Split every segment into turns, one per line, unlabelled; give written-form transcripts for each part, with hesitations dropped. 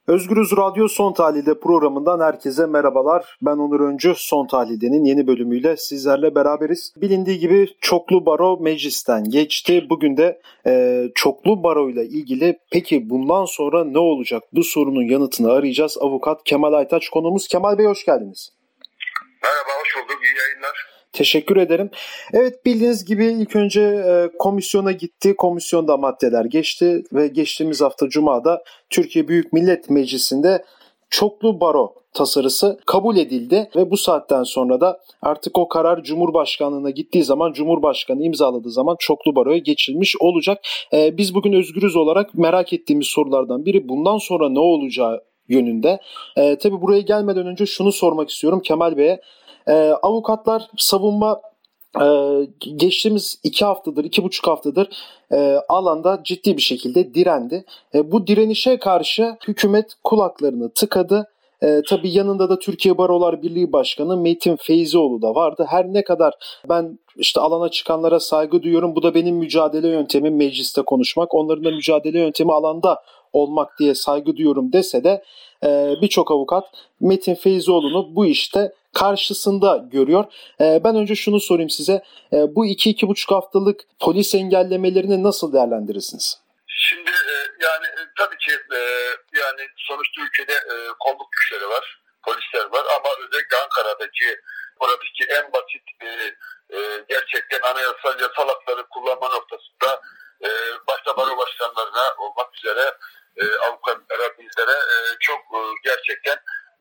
Özgürüz Radyo Son Tahlil'de programından herkese merhabalar. Ben Onur Öncü. Son Tahlil'de'nin yeni bölümüyle sizlerle beraberiz. Bilindiği gibi çoklu baro meclisten geçti. Bugün de çoklu baro ile ilgili peki bundan sonra ne olacak? Bu sorunun yanıtını arayacağız. Avukat Kemal Aytaç konuğumuz. Kemal Bey hoş geldiniz.
Merhaba, hoş bulduk. İyi yayınlar.
Teşekkür ederim. Evet, bildiğiniz gibi ilk önce komisyona gitti. Komisyonda maddeler geçti ve geçtiğimiz hafta Cuma'da Türkiye Büyük Millet Meclisi'nde çoklu baro tasarısı kabul edildi ve bu saatten sonra da artık o karar Cumhurbaşkanlığına gittiği zaman, Cumhurbaşkanı imzaladığı zaman çoklu baroya geçilmiş olacak. Biz bugün Özgürüz olarak merak ettiğimiz sorulardan biri bundan sonra ne olacağı yönünde. Tabii buraya gelmeden önce şunu sormak istiyorum Kemal Bey'e. Avukatlar, savunma geçtiğimiz 2,5 haftadır alanda ciddi bir şekilde direndi. Bu direnişe karşı hükümet kulaklarını tıkadı. Tabii yanında da Türkiye Barolar Birliği Başkanı Metin Feyzioğlu da vardı. Her ne kadar ben alana çıkanlara saygı duyuyorum, bu da benim mücadele yöntemim mecliste konuşmak, onların da mücadele yöntemi alanda olmak diye saygı duyuyorum dese de birçok avukat Metin Feyzioğlu'nu bu işte karşısında görüyor. Ben önce şunu sorayım size. Bu 2,5 haftalık polis engellemelerini nasıl değerlendirirsiniz?
Şimdi tabii ki yani sonuçta ülkede kolluk güçleri var, polisler var ama özellikle oradaki en basit gerçekten anayasal yasal hakları kullanma noktasında başta baro başkanlarına olmak üzere avukatlara, bizlere çok gerçekten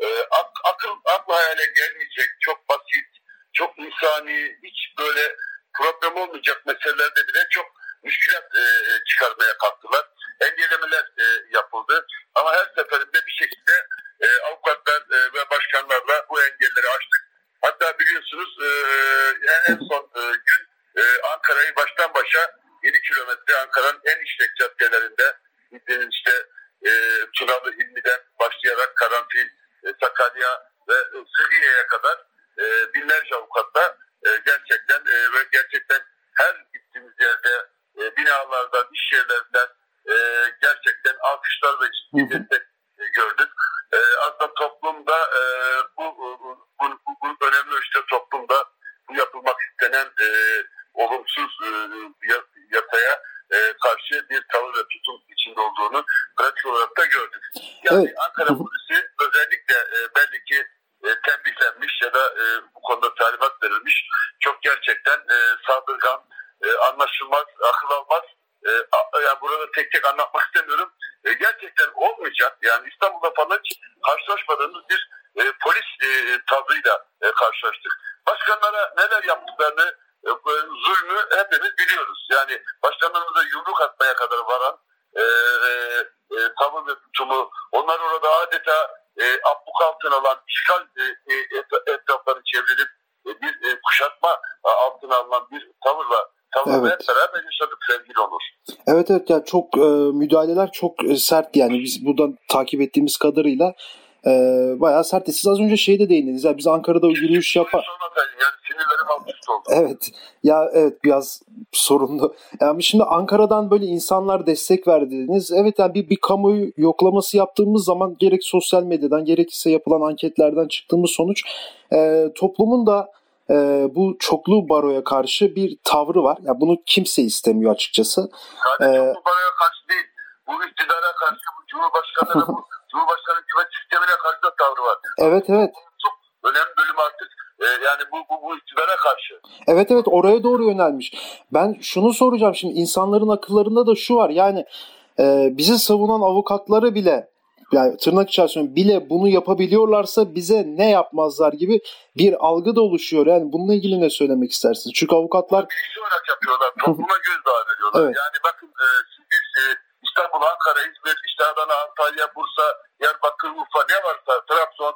akla hayale gelmeyecek, çok basit, çok insani, hiç böyle problem olmayacak meselelerde bile çok müşkülat çıkarmaya kalktılar. Engellemeler yapıldı. Ama her seferinde bir şekilde avukatlar ve başkanlarla bu engelleri aştık. Hatta biliyorsunuz en son gün Ankara'yı baştan başa 7 kilometre Ankara'nın en işlek caddelerinde Tunalı Hilmi'den başlayarak Karanfil, Sakarya ve Sıhhiye'ye kadar binlerce avukatla gerçekten her gittiğimiz yerde binalardan, iş yerlerinden gerçekten alkışlar ve ciddi destek gördük. Aslında toplumda bu önemli ölçüde toplumda bu yapılmak istenen olumsuz yasaya karşı bir tavır ve tutum içinde olduğunu pratik olarak da gördük. Yani evet. Ankara polisi özellikle belli ki tembihlenmiş ya da bu konuda talimat verilmiş. Çok gerçekten saldırgan, anlaşılmaz, akıl almaz. Yani burada tek tek anlatmak istemiyorum. Gerçekten olmayacak. Yani İstanbul'da falan hiç karşılaşmadığımız bir polis tavrıyla karşılaştık. Başkanlara neler yaptıklarını, zulmü hepimiz biliyoruz. Yani başkanlarımıza yumruk atmaya kadar varan tavır ve tutumu, onlar orada adeta abluk altına alan, işgal etraflarını çevrilip bir kuşatma altına alınan bir tavırla
evet.
Hep beraber yaşadık sevgili Onur.
Evet yani çok müdahaleler çok sert, yani biz buradan takip ettiğimiz kadarıyla bayağı sert. Siz az önce de değindiniz. Yani biz Ankara'da yürüyüş yapar.
Yani sinirlerim alt üst oldu.
Evet. Evet, biraz sorunlu. Yani şimdi Ankara'dan böyle insanlar destek verdiniz. Evet, yani bir kamuoyu yoklaması yaptığımız zaman gerek sosyal medyadan gerekirse yapılan anketlerden çıktığımız sonuç toplumun da bu çoklu baroya karşı bir tavrı var. Yani bunu kimse istemiyor açıkçası.
Sadece çoklu baroya karşı değil. Bu iktidara karşı, bu Cumhurbaşkanı hükümet sistemine karşı da tavrı var.
Evet.
Çok önemli bölüm artık yani bu iktidara karşı.
Evet, oraya doğru yönelmiş. Ben şunu soracağım şimdi, insanların akıllarında da şu var, yani bizi savunan avukatları bile, yani tırnak içerisinde bile bunu yapabiliyorlarsa bize ne yapmazlar gibi bir algı da oluşuyor. Yani bununla ilgili ne söylemek istersiniz? Çünkü avukatlar
kişi olarak yapıyorlar. Topluma gözdağı veriyorlar.
Evet.
Yani bakın biz İstanbul, Ankara, İzmir, Adana, Antalya, Bursa, Diyarbakır, Urfa ne varsa, Trabzon,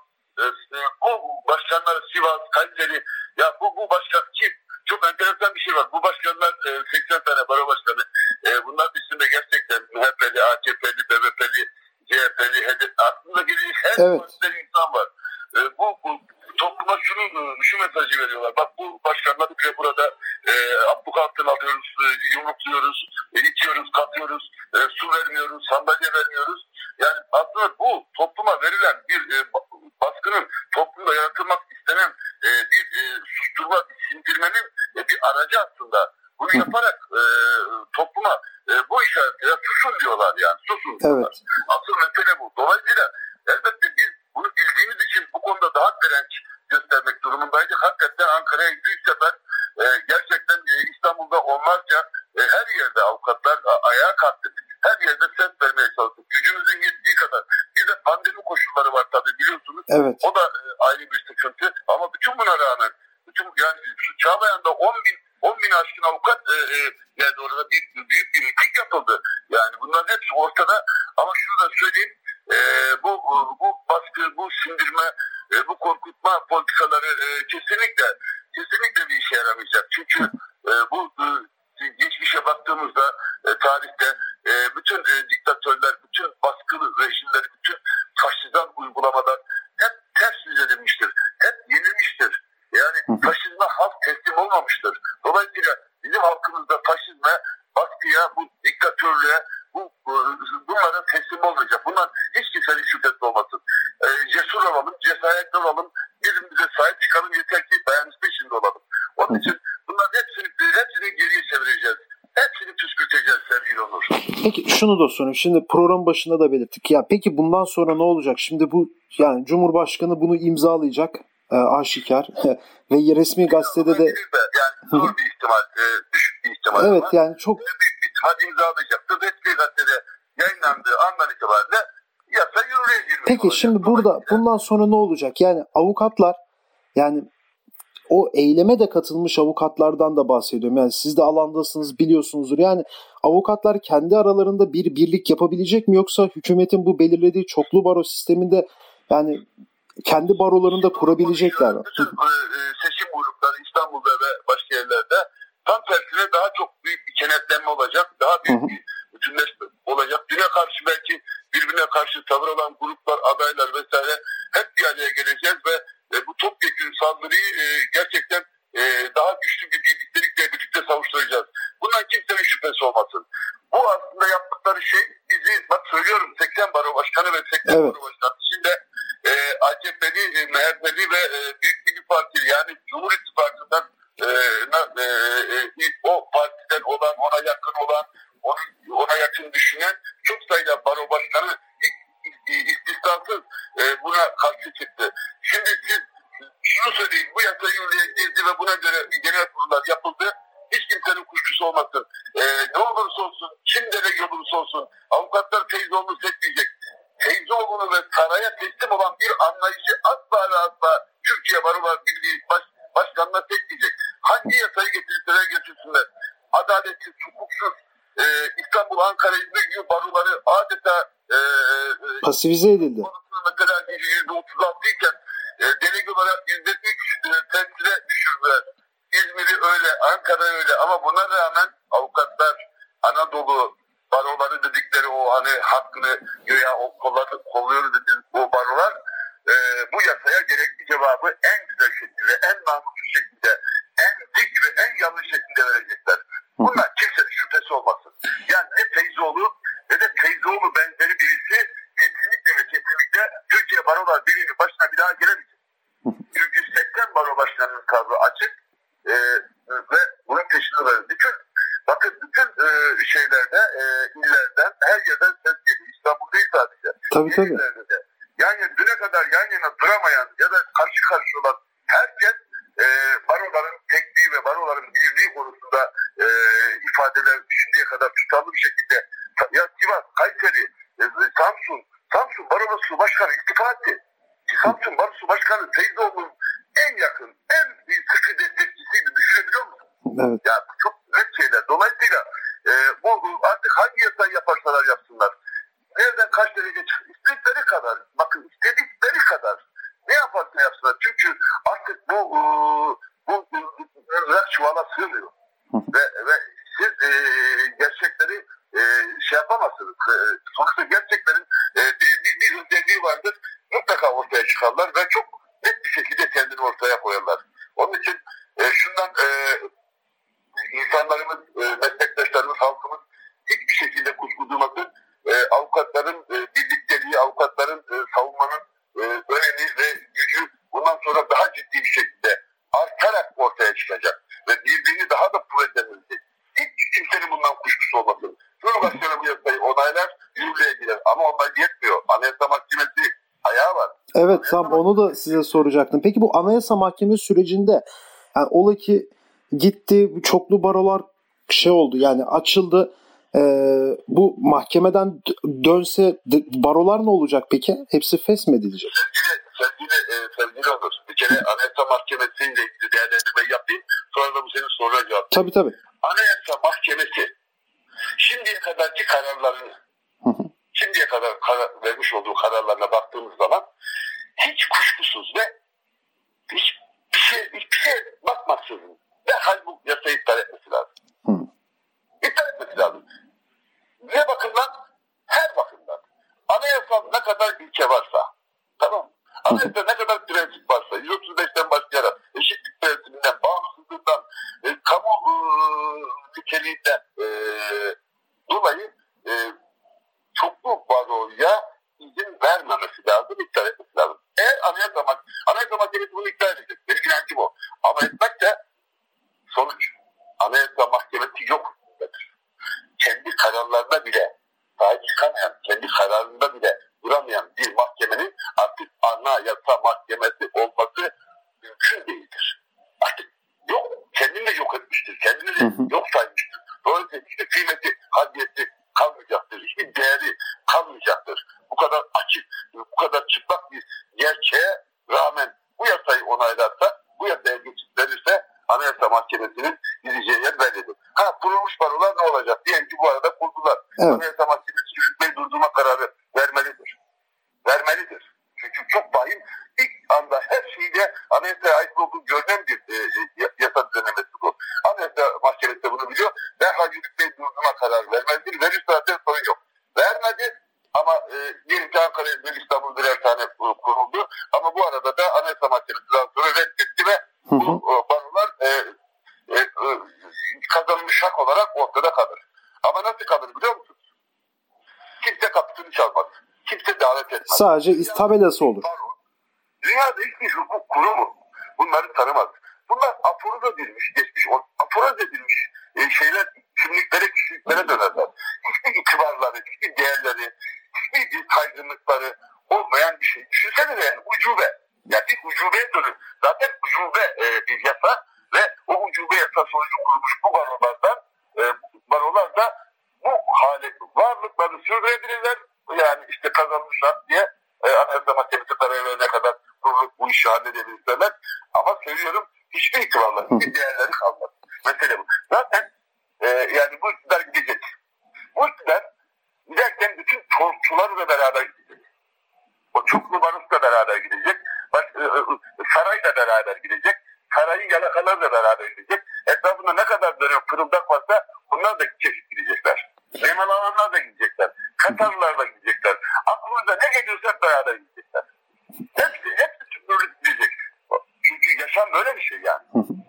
bu başkanlar, Sivas, Kayseri, ya bu başkan kim? Çok enteresan bir şey var. Bu başkanlar 80 tane baro başkanı. Bunlar üstünde gerçekten MHP'li, AKP'li, BBP'li, CHP'li, HDP, aklında gelecek her partiden insan var. Bu topluma şu mesajı veriyorlar. Bak bu başkanları bile burada abluk altına alıyoruz, yumrukluyoruz, itiyoruz, katıyoruz, su vermiyoruz, sandalye vermiyoruz. Yani aslında bu topluma verilen bir baskının, toplumda yaratılmak istenen bir susturma, bir sindirmenin bir aracı aslında. Bunu yaparak topluma bu işaretler susun diyorlar yani. Susun diyorlar.
Evet.
Asıl mesele bu. Dolayısıyla elbette biz bunu bildiğimiz için bu konuda daha direnç göstermek durumundaydık. Hakikaten Ankara'ya ilk sefer gerçekten İstanbul'da onlarca her yerde avukatlar ayağa kalktık. Her yerde ses vermeye çalıştık. Gücümüzün yettiği kadar. Bir de pandemi koşulları var tabii biliyorsunuz.
Evet.
O da ayrı bir sıkıntı. Ama bütün buna rağmen yani şu Çağlayan'da 10 bin aşkın avukat geldi orada büyük bir miting yapıldı. Yani bunların hepsi ortada. Ama şunu da söyleyeyim. Bu baskı, bu sindirme, bu korkutma politikaları kesinlikle bir işe yaramayacak. Çünkü bu geçmişe baktığımızda tarihte bütün diktatörler, bütün baskılı rejimler, bütün faşizan uygulamalar hep ters yüz edilmiştir. Hep yenilmiştir. Yani faşizme halk teslim olmamıştır. Dolayısıyla bizim halkımızda faşizme, baskıya, bu diktatörlüğe, bunlara teslim olmayacak. Bundan hiç kimsenin şüphesi olmasın. Cesur olalım, cesaretli olalım, birbirimize sahip çıkalım, yeter ki dayanışma içinde olalım. Onun için bunların hepsini geriye çevireceğiz. Hepsini püskürteceğiz sevgili Onur.
Peki şunu da sorayım. Şimdi program başında da belirttik. Ya peki bundan sonra ne olacak? Şimdi bu yani Cumhurbaşkanı bunu imzalayacak. Aşikar ve resmi gazetede de
yani zor bir ihtimal, düşük bir ihtimal.
Evet yani çok
büyük bir ihtimal imzalayacaktır. Resmi gazetede yayınlandığı andan itibaren yasa yürürlüğe girmiş
Peki
olacak.
şimdi burada bundan sonra ne olacak? Yani avukatlar, yani o eyleme de katılmış avukatlardan da bahsediyorum. Yani siz de alandasınız, biliyorsunuzdur. Yani avukatlar kendi aralarında bir birlik yapabilecek mi, yoksa hükümetin bu belirlediği çoklu baro sisteminde yani kendi barolarını da kurabilecekler mi?
Bütün seçim grupları İstanbul'da ve başka yerlerde tam tersine daha çok büyük bir kenetlenme olacak. Daha büyük bir bütünleşme olacak. Düne karşı belki birbirine karşı tavır olan gruplar, adaylar vesaire hep bir araya geleceğiz ve bu topyekün saldırıyı gerçekten daha güçlü bir birliktelikle birlikte savuşturacağız. Bundan kimsenin şüphesi olmasın. Bu aslında yaptıkları şey bizi, bak söylüyorum, 80 baro başkanı ve 80 baro başkanı içinde AKP'li, MHP'li ve Büyük Milli Partili, yani Cumhur İttifakı'ndan o partiden olan, ona yakın olan, ona yakın düşünen çok sayıda baro başkanı hiç istisnasız buna karşı çıktı. Şimdi siz şunu söyleyeyim, bu yasa yürürlüğe girdi ve buna göre genel kurullar yapıldı. Hiç kimsenin kuşkusu olmasın. Ne olursa olsun, kim delege olursa olsun, avukatlar Feyzoğlu'nu seçmeyecek. Feyzoğlu'nu ve saraya teslim olan bir anlayışı asla ve asla Türkiye Barolar Birliği Başkanı'na seçmeyecek. Hangi yasayı getirirseler getirsinler, adaletsiz, hukuksuz, İstanbul, Ankara, İzmir gibi baroları adeta
pasifize edildi.
Mesela %36 iken delege olarak %3 temsile düşürdüler. İzmir'i öyle, Ankara öyle, ama buna rağmen avukatlar Anadolu baroları dedikleri o hani hakkını göya kolluyoruz dediğimiz o barolar bu yasaya gerekli cevabı en güzel şekilde, en namuslu şekilde, en dik ve en yanlış şekilde verecekler. Bundan kimsenin şüphesi olmasın. Yani ne Feyzoğlu ne de Feyzoğlu benzeri birisi kesinlikle Türkiye Barolar Birliği'nin başına bir daha gelemeyecek. Çünkü 80 baro başkanının kadro açık ve bunun peşinde var. Bakın bütün şeylerde, illerden, her yerden ses geliyor. İstanbul değil sadece.
Tabii.
De. Yani düne kadar yan yana duramayan ya da karşı karşı olan herkes baroların tekniği ve baroların birliği konusunda ifadeler şimdiye kadar tutarlı bir şekilde, ya Sivas, Kayseri, Samsun Barosu Başkanı istifa etti. Samsun Barosu Başkanı Feyzoğlu'nun en yakın, en sıkı destekçisiydi. Düşünebiliyor musun?
Evet.
Yani çok net şeyler. Dolayısıyla bu artık hangi yasayı yaparsalar yapsınlar. Nereden kaç derece çıkıyor? İstedikleri kadar. Bakın istedikleri kadar. Ne yaparsa yapsınlar. Çünkü artık bu çuvala sığmıyor. ve siz gerçekleri şey yapamazsınız. Sonuçta gerçeklerin bir özelliği vardır. Mutlaka ortaya çıkarlar ve çok net bir şekilde kendini ortaya koyarlar. Onun için şundan insanlarımız, meslektaşlarımız, halkımız hiçbir şekilde kuşku duymasın. Avukatların birlikteliği, avukatların
Evet, tam onu da size soracaktım. Peki bu Anayasa Mahkemesi sürecinde yani ola ki gitti çoklu barolar oldu yani açıldı. Bu mahkemeden dönse barolar ne olacak peki? Hepsi feshmedilecek.
Sevgili olur. Bir kere Anayasa Mahkemesi'yle ilgili değerlendirme yapayım. Sonra da bu senin soruna cevap.
Tabii.
Anayasa Mahkemesi şimdiye kadarki kararlarını, şimdiye kadar vermiş olduğu kararlarına baktığımız zaman hiç kuşkusuz ve hiçbir şey bakmaksızın derhal bu yasayı iptal etmesi lazım. İptal etmesi lazım. Ne bakımdan? Her bakımdan. Anayasal ne kadar ilke varsa, tamam mı? Anayasada ne kadar prensip varsa, 135'ten başlayarak eşitlik prensibinden, bağımsızlığından, kamu niteliğinden dolayı çoklu baroya izin vermemesi lazım, iptal etmesi lazım. Eğer Anayasa Mahkemesi bunu iptal edecek. Benim inancım o. Ama etmek de sonuç. Anayasa Mahkemesi yok. Kendi kararlarına bile sahip çıkamayan, kendi kararında bile duramayan bir mahkemenin artık Anayasa Mahkemesi olması mümkün değildir. Artık yok, kendini de yok etmiştir, kendini de yok saymıştır. Dolayısıyla hiçbir kıymeti, hadiyeti kalmayacaktır, hiçbir değeri kalmayacaktır. Bu kadar açık, bu kadar çıplak bir gerçeğe rağmen bu yasayı onaylarsa, bu yasaya geçit verirse Anayasa Mahkemesi'nin gideceği yer bellidir. Kurulmuş barolar ne olacak? Diyelim ki bu arada kurdular. Evet. Anayasa Mahkemesi yürütmeyi durdurma kararı vermelidir. Vermelidir. Çünkü çok vahim, ilk anda her şeyde Anayasa'ya ait olduğu görünen bir yasa düzenlemesi bu. Anayasa Mahkemesi de bunu biliyor. Derhal yürütmeyi durdurma kararı vermelidir. Verir zaten sorun yok. Vermedi ama diyelim ki Ankara, İzmir, İstanbul birer tane kuruldu. Ama bu arada da Anayasa Mahkemesi'nden sonra reddetti ve bu barolar kazanılmış hak olarak ortada kalır. Ama nasıl kalır biliyor musunuz? Kimse kapısını çalmaz. Kimse davet etmez.
Sadece tabelası olur.
Dünyada hiçbir hukuk kurumu bunları tanımaz. Bunlar aforoz edilmiş, aforoz edilmiş şeyler, kimliklere dönerler. Hiçbir itibarları, hiçbir değerleri, hiçbir saygınlıkları olmayan bir şey. Düşünsene yani ucube. Yani bir ucubeye dönür. Zaten ucube bir yasa ve o ucube yasa sonucu kurulmuş bu barolar da bu hale varlıklarını sürdürebilirler. Yani işte kazanmışlar diye Anayasa Mahkemesi karar verene kadar kurulup bu işi halledebilirler. Ama söylüyorum hiçbir itibarları, hiçbir değerleri kalmaz. Mesele bu. Zaten yani bu iktidar gidecek. Bu iktidar giderken bütün torçularla beraber gidecek. O çoklu barışla beraber gidecek. Sarayla beraber gidecek. Sarayın yalakalarla beraber gidecek. Etrafında ne kadar dönüyor fırıldak varsa bunlar da çeşit gidecekler. Nemalananlar da gidecekler. Katarlılar da gidecekler. Aklınıza ne geliyorsa hep beraber gidecekler. Hepsi süpürülüp gidecek. Çünkü yaşam böyle bir şey yani.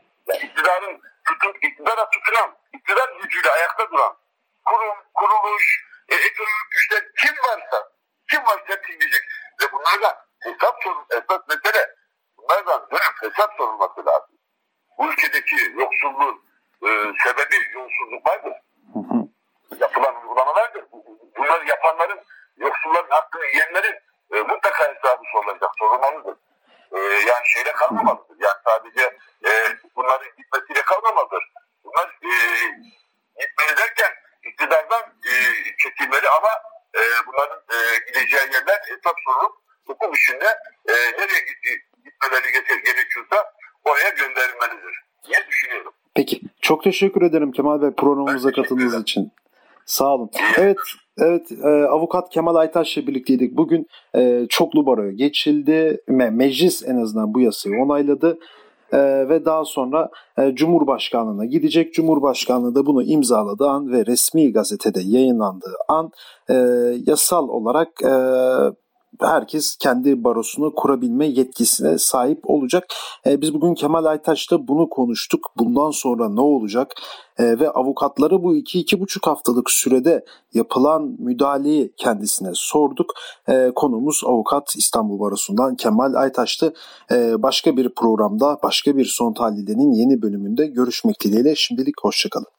İktidara tutunan, iktidar gücüyle ayakta duran kurum, kuruluş, ekonomik güçler kim varsa hepsi gidecek. Ve bunlardan esas mesele bunlardan dönüp hesap sorulması lazım. Bu ülkedeki yoksulluğun sebebi yolsuzluklardır. Yapılan uygulamalardır. Bunları yapanların, yoksulların hakkını yiyenlerin mutlaka hesabı sorulmalıdır. Yani şeyle kalmamalıdır. Yani sadece bunların gitmesiyle kalmamalıdır. Bunlar gitmeli derken iktidardan çekilmeli ama bunların gideceği yerler hesap sorulup hukuk içinde nereye gitmeleri gerekiyorsa oraya gönderilmelidir diye düşünüyorum.
Peki. Çok teşekkür ederim Kemal Bey programımıza katıldığınız için. Sağ olun. Evet, avukat Kemal Aytaş'la birlikteydik. Bugün çoklu baroya geçildi. Meclis en azından bu yasayı onayladı. Ve daha sonra Cumhurbaşkanlığına gidecek. Cumhurbaşkanlığı da bunu imzaladığı an ve resmi gazetede yayınlandığı an yasal olarak herkes kendi barosunu kurabilme yetkisine sahip olacak. Biz bugün Kemal Aytaş'ta bunu konuştuk. Bundan sonra ne olacak? Ve avukatları bu 2-2,5 haftalık sürede yapılan müdahaleyi kendisine sorduk. Konuğumuz avukat İstanbul Barosu'ndan Kemal Aytaş'tı. Başka bir programda, başka bir Son Tahlil'in yeni bölümünde görüşmek dileğiyle. Şimdilik hoşçakalın.